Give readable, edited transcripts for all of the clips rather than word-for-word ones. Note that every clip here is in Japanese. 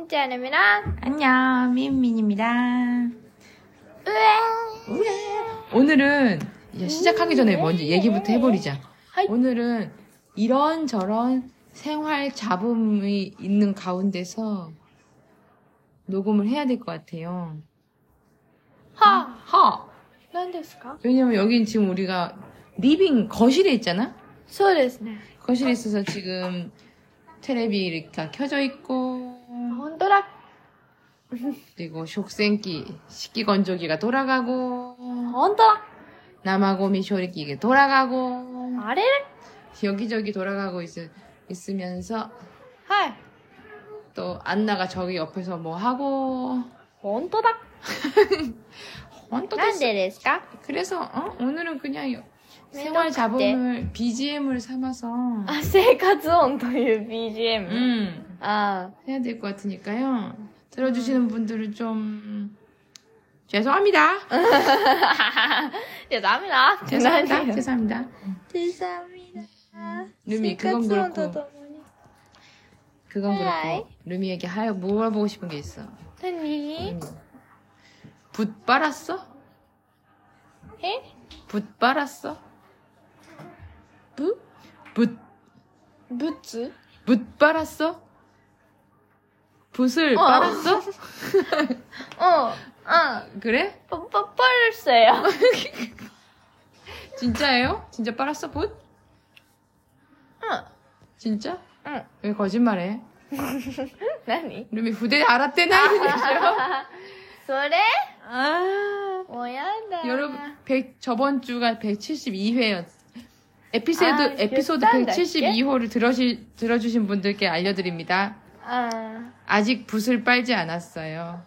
민지아입니다. 안녕, 민민입니다. 오늘은 시작하기 전에 먼저 얘기부터 해버리자. 오늘은 이런저런 생활 잡음이 있는 가운데서 녹음을 해야 될 것 같아요. 何ですか? 왜냐면 여긴 지금 우리가 리빙 거실에 있잖아? そうですね. 거실에 있어서 지금 테레비가 켜져 있고, 本当だ. 그리고 식생기, 식기건조기가 돌아가고, 本当だ. 남아고미 쇼리기가 돌아가고, あれ? 여기저기 돌아가고 있으면서, はい. 또 안나가 저기 옆에서 뭐 하고, 本当だ. 헌터데스. なんでですか? 그래서 오늘은 그냥 생활 잡음을 BGM을 삼아서 生活音という BGM. 해야 될 것 같으니까요. 들어주시는 분들은 좀 죄송합니다. 죄송합니다. 죄송합니다. 죄송합니다. 죄송합니다. 루미 그건 그렇고 루미에게 물어보고 싶은 게 있어. 何? 붓 빨았어? 에? 붓 빨았어? 붓? 붓 빨았어? 붓을 빨았어? 그래? 빨았어요. 진짜예요? 진짜 빨았어, 붓? 응. 진짜? 응. 왜 거짓말해? 何? 루미 부대 알았대나? それ? 아. もうやだ. 여러분, 저번 주가 172회였. 에피소드 172호를 들어주신 분들께 알려드립니다. 아직 붓을 빨지 않았어요.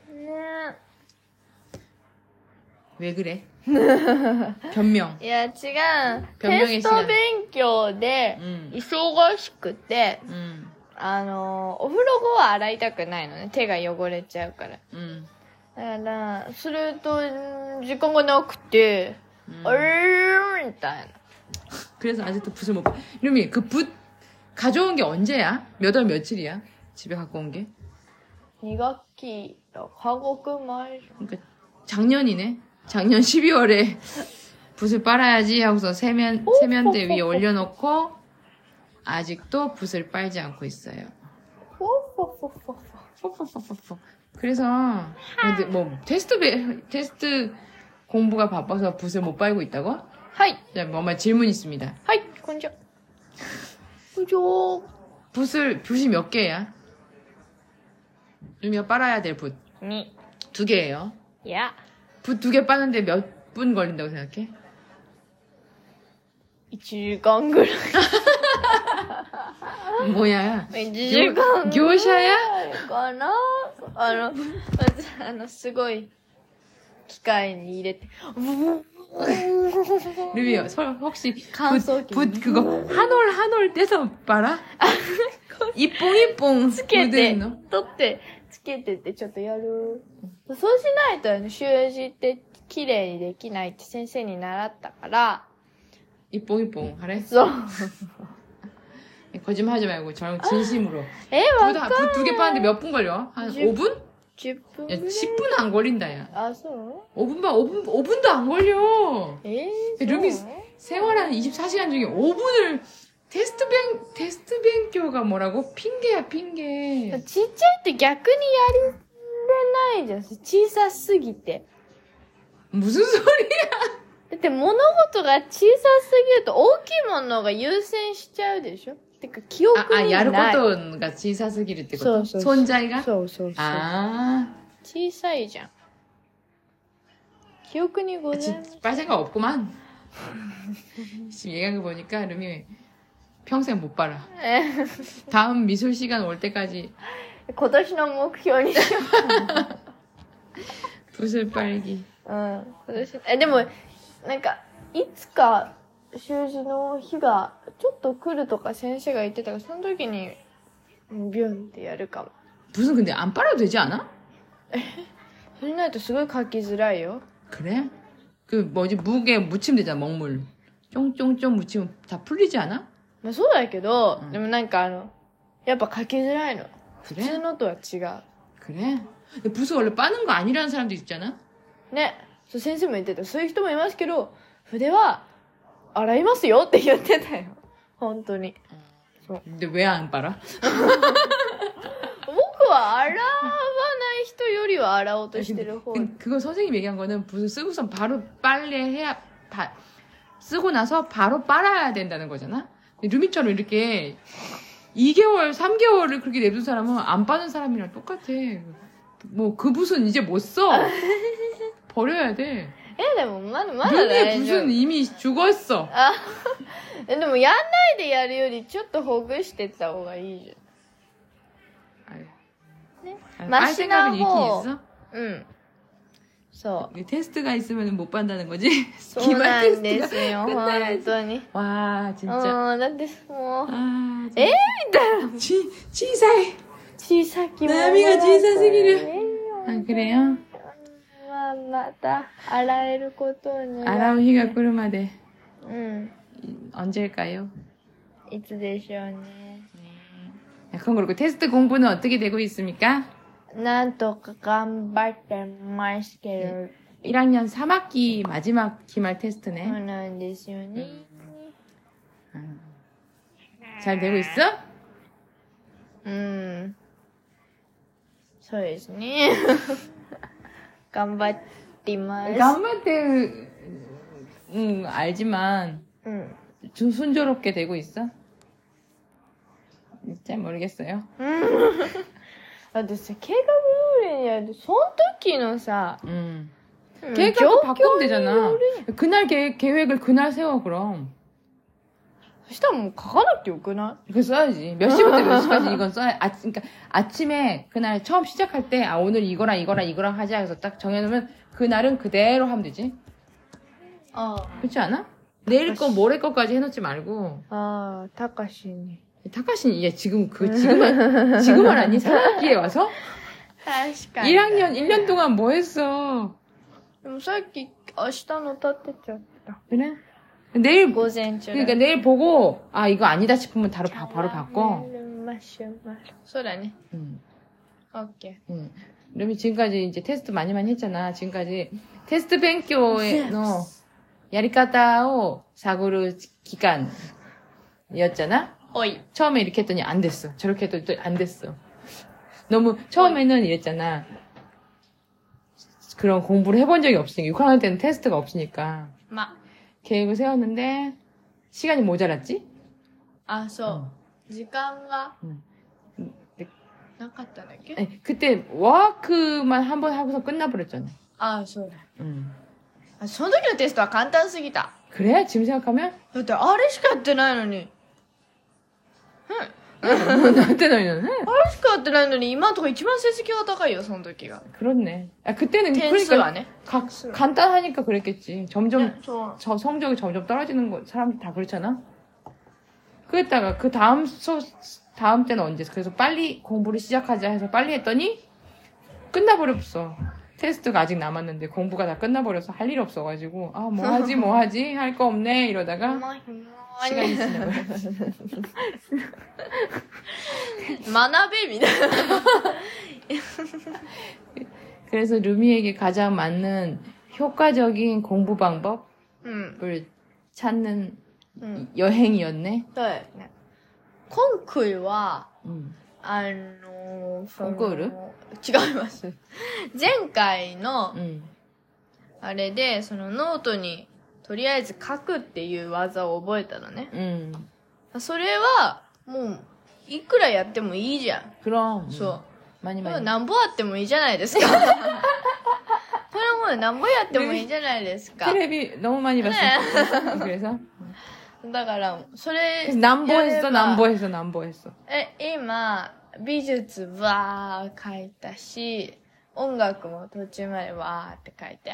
왜 그래? 변명. いや、違う。 변명의 テスト 시간. 勉強で、忙しくて、お風呂後は洗いたくないのね。手が汚れちゃうから。だから、すると、時間がなくて、みたいな。 그래서 아직도 붓을 못 봐. 루미, 그 붓 가져온 게 언제야? 몇 월 며칠이야? 집에 갖고 온 게? 2学期の韓国前。 그러니까 작년이네. 작년 12월에 붓을 빨아야지 하고서 세면대 위에 올려놓고 아직도 붓을 빨지 않고 있어요. 그래서 근데 뭐 테스트 공부가 바빠서 붓을 못 빨고 있다고? はい。 자, 뭐만 질문 있습니다. はい、こんにちは。こんにちは。 붓이 몇 개야? 루미가 빨아야 될 붓. 2。 2개예요. いや。 붓 2개 빠는데 몇 분 걸린다고 생각해? 1時間ぐらい。 뭐야? 1時間。 業者や? かなすごい、機械に入れて、 루미, 혹시 乾燥機 붓 그거 한 올 떼서 빨아? 이뽕 つけて、 묻은 거? 取って、つけてってちょっとやる。そうしないと習字って綺麗にできないって先生に習ったから。 이뽕 하래? そう。 거짓말 하지 말고 진심으로. わかんない。 붓 2개 빠는데 몇 분 걸려? 한 5분? 10分 야, 10분 안 걸린다, 야. 아, そう 5분도 안 걸려. 루미 そう 생활하는 24시간 중에 5분을 테스트勉強가 뭐라고? 핑계야, 핑계. ちっちゃいって逆にやれないじゃん。小さすぎて。 무슨 소리야? だって物事が小さすぎると大きいものが優先しちゃうでしょ。てか記憶にない。 야르코토가 小さすぎるってこと? 손자이가? そうそうそう。 아. 小さいじゃん。記憶にございます。 빨 생각 없구만. 지금 얘기한 거 보니까 루미 평생 못 빨아. 다음 미술 시간 올 때까지 今年の目標にしよう。 붓을 빨기. 今年。でも、なんか、いつか習字の日がちょっと来るとか先生が言ってたから、その時にビュンってやるかも。 붓은 근데 안 빨아도 되지 않아? それないとすごい書きづらいよ。 그래? 그 뭐지 무게 묻히면 되잖아. 먹물 쫑쫑쫑 묻히면 다 풀리지 않아? まあそうだけど、でもなんかやっぱ書きづらいの。 普通のとは違う。 그래? 붓을 원래 빠는 거 아니라는 사람도 있잖아? ね。そう先生も言ってた。そういう人もいますけど、筆は洗いますよって言ってたよ。本当に。 근데 왜 안 빨아? 僕は洗わない人よりは洗おうとしてる方。 그거 선생님이 얘기한 거는 붓을 쓰고선 바로 빨래해야, 쓰고 나서 바로 빨아야 된다는 거잖아? 루미처럼 이렇게 2개월, 3개월을 그렇게 냅둔 사람은 안 빠는 사람이랑 똑같아. 뭐 그 붓은 이제 못 써. 버려야 돼. でもまだ 루미의 大丈夫。 붓은 이미 죽었어. でもやんないでやるよりちょっとほぐしてった方がいいじ 아유. ゃん。ね。 빨 マシな 생각은 方。 이렇게 있어? うん。そう。 테스트가 있으면 못 반다는 거지? そうな 기말 んです 테스트가 よ。本 끝나야지. 当に。 와, う 진짜. ん、だってもう。 아, みたいな。 치사해. 小さきものだった波が小さすぎる。 ね 아, 그래요? まあ、また、洗えることを願う。 알아올日が来るまでうん。 언제일까요? いつでしょうね。 그럼 그렇고 테스트 공부는 어떻게 되고 있습니까? なんとか頑張ってますけど。 1학년 3학기 마지막 기말 そう 테스트네. なんですよね。 잘 되고 있어? うん。そうですね。頑張ってます。 gam마때 알지만 うん。 좀 순조롭게 되고 있어? 잘 모르겠어요. だってさ、計画通りにやると、その時のさ、 계획을 바꾸면 되잖아. 状況による 그날 계획을 그날 세워 그럼. そしたらもう書かなくてよくな 그거 써야지. 몇 시부터 몇 시까지 이건 써야, 그러니까 아침에 그날 처음 시작할 때, 오늘 이거랑 하자 해서 딱 정해놓으면 그날은 그대로 하면 되지. いあ 그렇지 않아? 내일 거, 모레 거까지 해놓지 말고. あ、たかしに。 타카시는, 얘 지금 지금 하니? 4학기에 와서? 確かに。 1학년, 1년 동안 뭐 했어? でもさっき、明日の立てちゃった。 그래? 내일, 午前中。 그러니까 내일 보고, 아, 이거 아니다 싶으면 바로 바꿔. マシュマロ。そうだね。 オッケ 응. 루미 지금까지 이제 테스트 많이 했잖아. 지금까지 테스트 뱅교의 야리카타오 사고를 기간이었잖아. ー。おい。 처음에 이렇게 했더니 안 됐어. 저렇게 했더니 또 안 됐어. 너무 처음에는 이랬잖아. 그런 공부를 해본 적이 없으니까 6학년 때는 테스트가 없으니까 ま。 계획을 세웠는데 시간이 모자랐지? あ、そう。時間が 네. なかったんだっけ 아니, 그때 워크만 한 번 하고서 끝나버렸잖아. あ、そうだ。 응. あ、その時のテストは簡単すぎた。 그래? 지금 생각하면? だってあれしかやってないのに。 나한테 너희는 あれしかやってないのに、今のとこ一番成績が高いよ、その時が。 그렇네. 아, 그때는 点数はね。 간단하니까 그랬겠지. 점점 そう。 저 성적이 점점 떨어지는 거 사람들 다 그렇잖아. 그랬다가 그 다음 다음 때는 언제? 그래서 빨리 공부를 시작하자 해서 빨리 했더니 끝나버렸어. 테스트가 아직 남았는데 공부가 다 끝나버려서 할 일 없어가지고 아 뭐 하지 할 거 없네 이러다가 시간이 지나버려. 学べみたいな。 그래서 루미에게 가장 맞는 효과적인 공부 방법을 うん。 찾는 うん。 여행이었네. そうだよね。今回は、 응. そのコンクール違います。前回の、 응. あれで、そのノートに、とりあえず書くっていう技を覚えたのね。 응. それは、もう、いくらやってもいいじゃん。 그럼. そう。 많이 これ 많이. なんぼあってもいいじゃないですか。これもうなんぼやってもいいじゃないですか。 텔레비 너무 많이 봤어. 그래서 だから、それ、 그래서 남보했어, やれば 남보했어. 今、美術わー書いたし、音楽も途中までわーって書いたよ。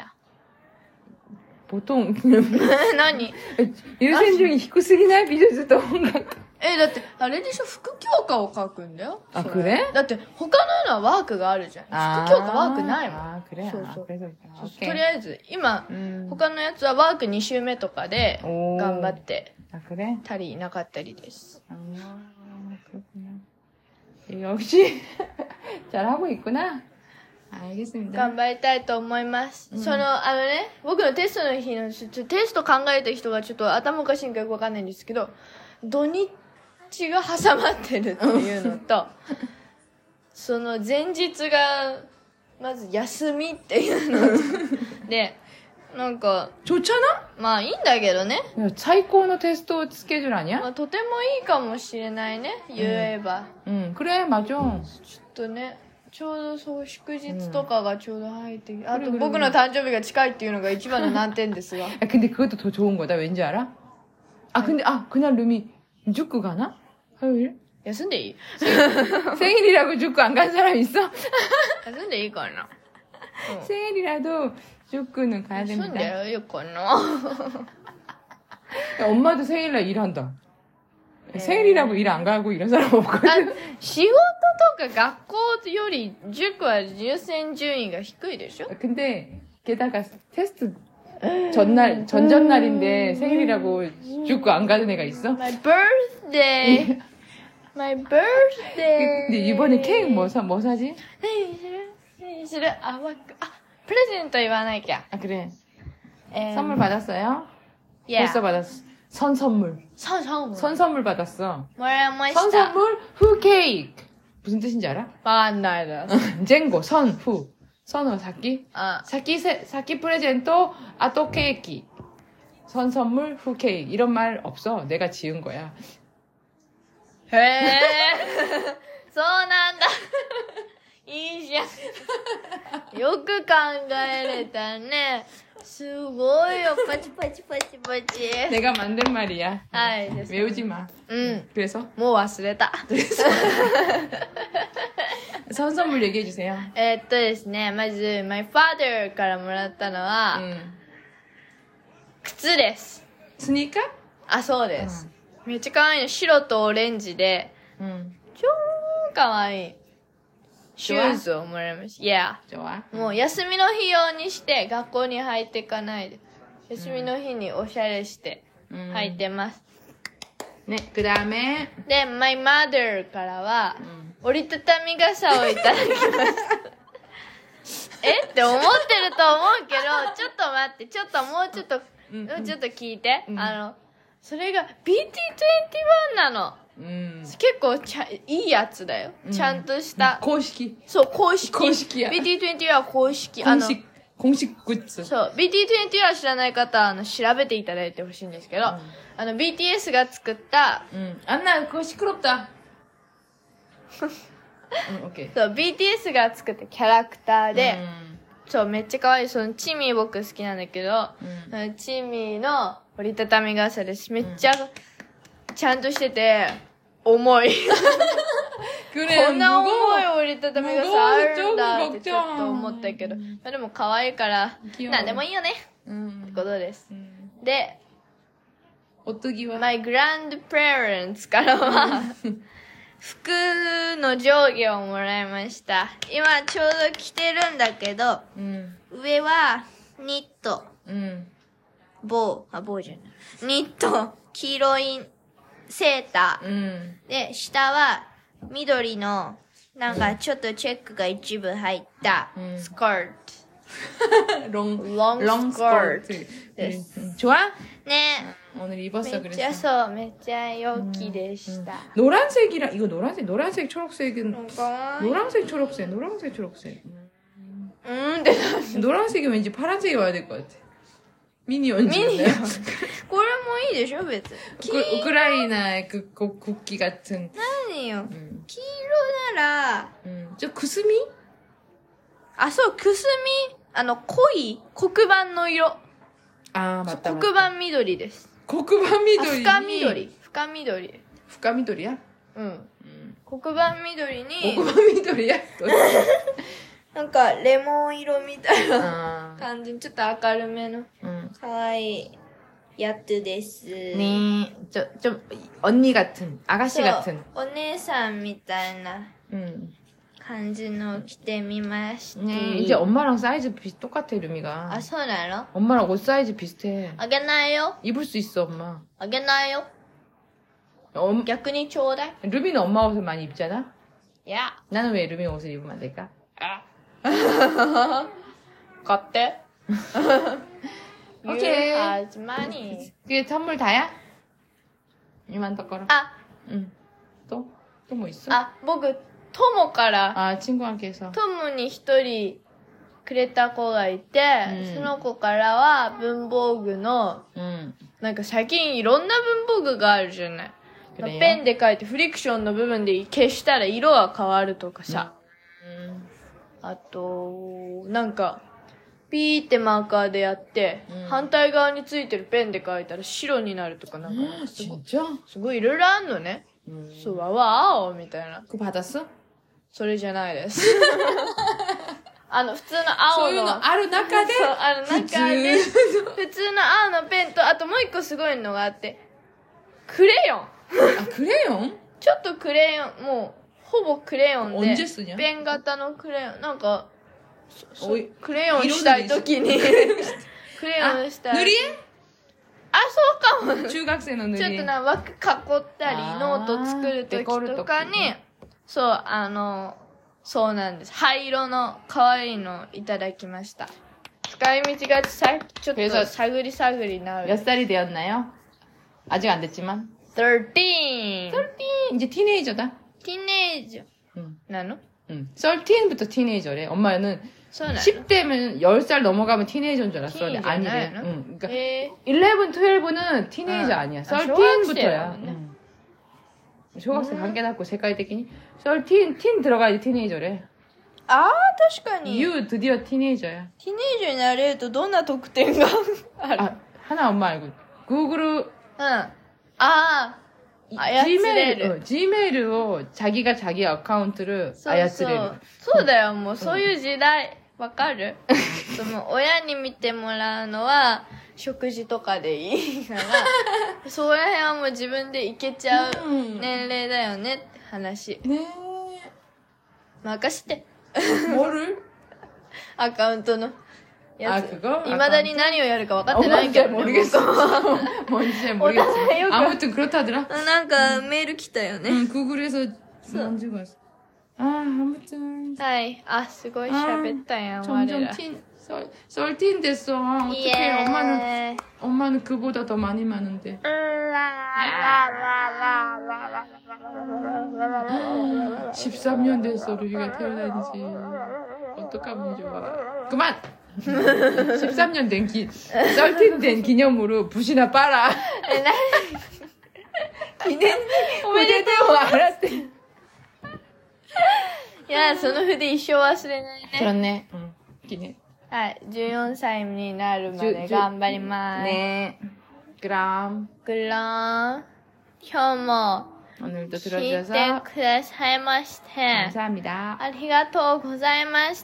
보통 何優先順位低すぎない美術と音楽。 だって、あれでしょ副教科を書くんだよ。 あ、 それくれだって、他のはワークがあるじゃん。副教科ワークないもん。 아, 그래? そうそう 아, 그래서. そうとりあえず、今、 음. 他のやつはワーク2週目とかで、 오. 頑張って 아, 그래? たりなかったりです。 아, 그렇구나. 역시 잘하고 있구나. 알겠습니다. 頑張りたいと思います。僕のテストの日の、テスト考えた人がちょっと頭おかしいんかよくわかんないんですけど、土日が挟まってるっていうのと、その前日が、まず休みっていうので、なんか、 좋잖아? まあいいんだけどね。 最高のテストスケジュール아니야? まあとてもいいかもしれないね、言えば。 그래, 맞아. ちょっとね、ちょうどそう祝日とかがちょうど入ってきて、あと僕の誕生日が近いっていうのが一番の難点ですが。 근데 그것도 더 좋은 거다. 왠지 알아? 그날 루미 축구 가나? 화요일? 休んでいい 생일이라고 축구 안 간 사람 있어? 休んでいいかな 생일이라도 축구는 가야 休ん 됩니다. でいいかな 야, 엄마도 생일날 일한다. 생일이라고 일 안 가고 이런 사람 없거든. 仕事とか学校より塾は優先順位が低いでしょ 근데 게다가 테스트 전전날인데 생일이라고 축구 안 가는 애가 있어? My birthday My birthday 근데 이번에 케이크 뭐 사지? 何するプレゼント言わなきゃ 아 그래. 선물 받았어요? Yeah 벌써 받았어. 선선물. 선선물 받았어. もらいました 선선물 후 케이크. 무슨 뜻인지 알아? わかんないです 쟁고 선 후. 선호 사키? あ 사키 프레젠토 아또 케이크. 선선물 후 케이크. 이런 말 없어. 내가 지은 거야. へえそうなんだいいじゃんよく考えれたねすごいよパチパチパチパチ 내가 만든 말이야. はいです 외우지 마. うん 그래서 もう忘れた 선선물 얘기해 주세요. ですねまず my father からもらったのは、靴です 스니커? あそうです、めっちゃ可愛いの白とオレンジで超可愛いシューズをもらいました。Yeah. 좋아. もう休みの日用にして学校に入っていかないで。休みの日におしゃれして入ってます。 ね、くだめ。 で、my mother からは、折りたたみ傘をいただきました。って思ってると思うけど、ちょっと待って、もうちょっと聞いて。それが BT21 なの。結構いいやつだよ。ちゃんとした。 公式。 そう、公式。 公式や。 BT21 は公式。 公式グッズ。 そう、BT21 は知らない方は、調べていただいてほしいんですけど、BTS が作った、 あんな、こうシクロった。オッケー。 そう、BTS が作ったキャラクターで、そう、めっちゃ可愛い。その、チミー僕好きなんだけど、チミーの折りたたみ傘です。めっちゃ、ちゃんとしてて、重い。こんな重い折りたたみ傘あるんだってちょっと思ったけど、でも可愛いから、なんでもいいよね。ってことです。で、 お次は my grandparents からは、服の上下をもらいました。今ちょうど着てるんだけど、上はニット、帽じゃない。ニット、黄色いセーター、で、下は緑の、なんかちょっとチェックが一部入ったスカート。ロンスカートです。 좋아? ね。 오늘 입었어 그래서. めっちゃ陽気でした。 노란색이랑 이거 노란색 초록색은 노란색 초록색. 노란색이 왠지 파란색이 와야 될 것 같아. 미니언즈. これもいいでしょ別に。 우크라이나의 그 국기 같은. 何よ。黄色なら、 저 구스미? そう、くすみ、濃い黒板の色。 맞다. 黒板緑です。 黒板緑に。 深緑。 深緑や? 黒板緑に。 黒板緑や? なんか、レモン色みたいな感じ。ちょっと明るめの。かわいいやつです。 ね좀 언니 같은, 아가씨 같은. お姉さんみたいな感じの着てみました。 ね이제 엄마랑 사이즈 똑같아, 루미가. そうなの? 엄마랑 옷 사이즈 비슷해. あげないよ. 입을 수 있어, 엄마. あげないよ.逆にちょうだい. 루미는 엄마 옷을 많이 입잖아? 야. 나는 왜 루미 옷을 입으면 안 될까? 買って。 오케이. has money. 그게 선물 다야? 이만 덕거라. 아, 응. 또 뭐 있어? あ、僕、友から、 아, 친구한테서. 友に一人くれた子がいて、その子からは文房具の、なんか最近いろんな文房具があるじゃない。ペンで書いてフリクションの部分で消したら色が変わるとかさ。あと、なんか、ピーってマーカーでやって、反対側についてるペンで書いたら白になるとかなんか、すごいいろいろあんのね。そう、わわ青みたいな。 그거 받았어? それじゃないです。普通の青の。 そういうのある中で。 そう、ある中で。普通の青のペンと、あともう一個すごいのがあって、クレヨン。 あ、クレヨン？ ちょっとクレヨン、もう、ほぼクレヨンで。ペン型のクレヨン。なんか、クレヨンしたいときに。クレヨンしたい。 塗り絵？ あ、そうかも。 中学生の塗り絵。 ちょっとな、枠囲ったり、ノート作るときとかに、そう、そうなんです。灰色の可愛いのをいただきました。使い道がちょっと探り探りなる。 몇 살이 되었나요? 아직 안 됐지만. 13. 이제 티네이저다. 티네이저.なの? 13부터 티네이저래. 엄마는 10대면 10살 넘어가면 티네이저인 줄 알았어. 아니래. 그러니까 11, 12는 티네이저 아니야. 13부터야. 초등학생 관계났고 색깔的に 13, 틴 들어가야지 티네이저래. 아, 確かに. 유 드디어 티네이저야. 티네이저になれるとどんな特典がある? 아, 하나 엄마 알고. 구글. Gmailを 자기가 자기 어카운트를 操れる。 そうだよ、もうそういう時代。わかるその親に見てもらうのは食事とかでいいから、そこら辺はもう自分でいけちゃう年齢だよねって話。 ねえ。任して。 뭐를? アカウントのやつ。 그거? 未だに何をやるか分かってないけど、ね。 모르겠어. 뭔지 모르겠지만. 아무튼 그렇다더라. なんかメール来たよね。 구글에서 만지고 왔어. 아무튼. はい。あ、すごい喋ったやん、 점점 썰틴 됐어. 어떡해. 엄마는 그보다 더 많이 많은데. 13년 됐어. 루비가 태어난 지. 어떡하면 좋아. 그만! 13년 된 썰틴 된 기념으로 붓이나 빨아. 記念おめでとう알았대. いや、その筆一生忘れないね。 그렇네. 기념. はい、14歳になるまで頑張ります。 ね。그럼. 今日も 오늘도 聞い 들어주셔서 てくださいまして 감사합니다. ありがとうございました。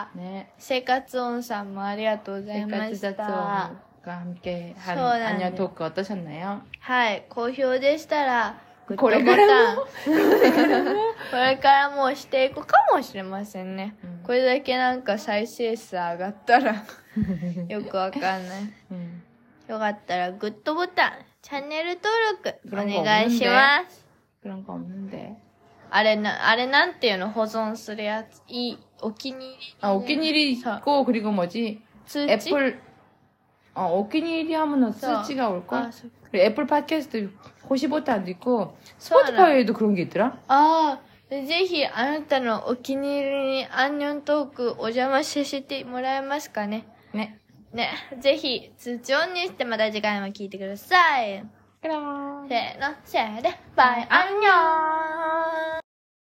네. 生活音さんもありがとうございました。 과 함께 한 안녕 토크 어떠셨나요? はい、好評でしたらグッドボタンこれからもしていくかもしれませんね。これだけなんか再生数上がったらよくわかんない。よかったらグッドボタン、チャンネル登録お願いします。 그런 거 없는데. あれなんていうの保存するやつ。お気に入り。 お気に入り있고 그리고 뭐지? 通知 애플お気に入り하면은通知가 올걸? 그리고 애플 팟캐스트 호시 버튼도 있고 스포티파이에도 그런 게 있더라? ぜひあなたのお気に入りにアンニョントークお邪魔させてもらえますかね。 ね。 ぜひ通知オンにしてまた次回も聞いてください。せーの、せーで、バイアンニョン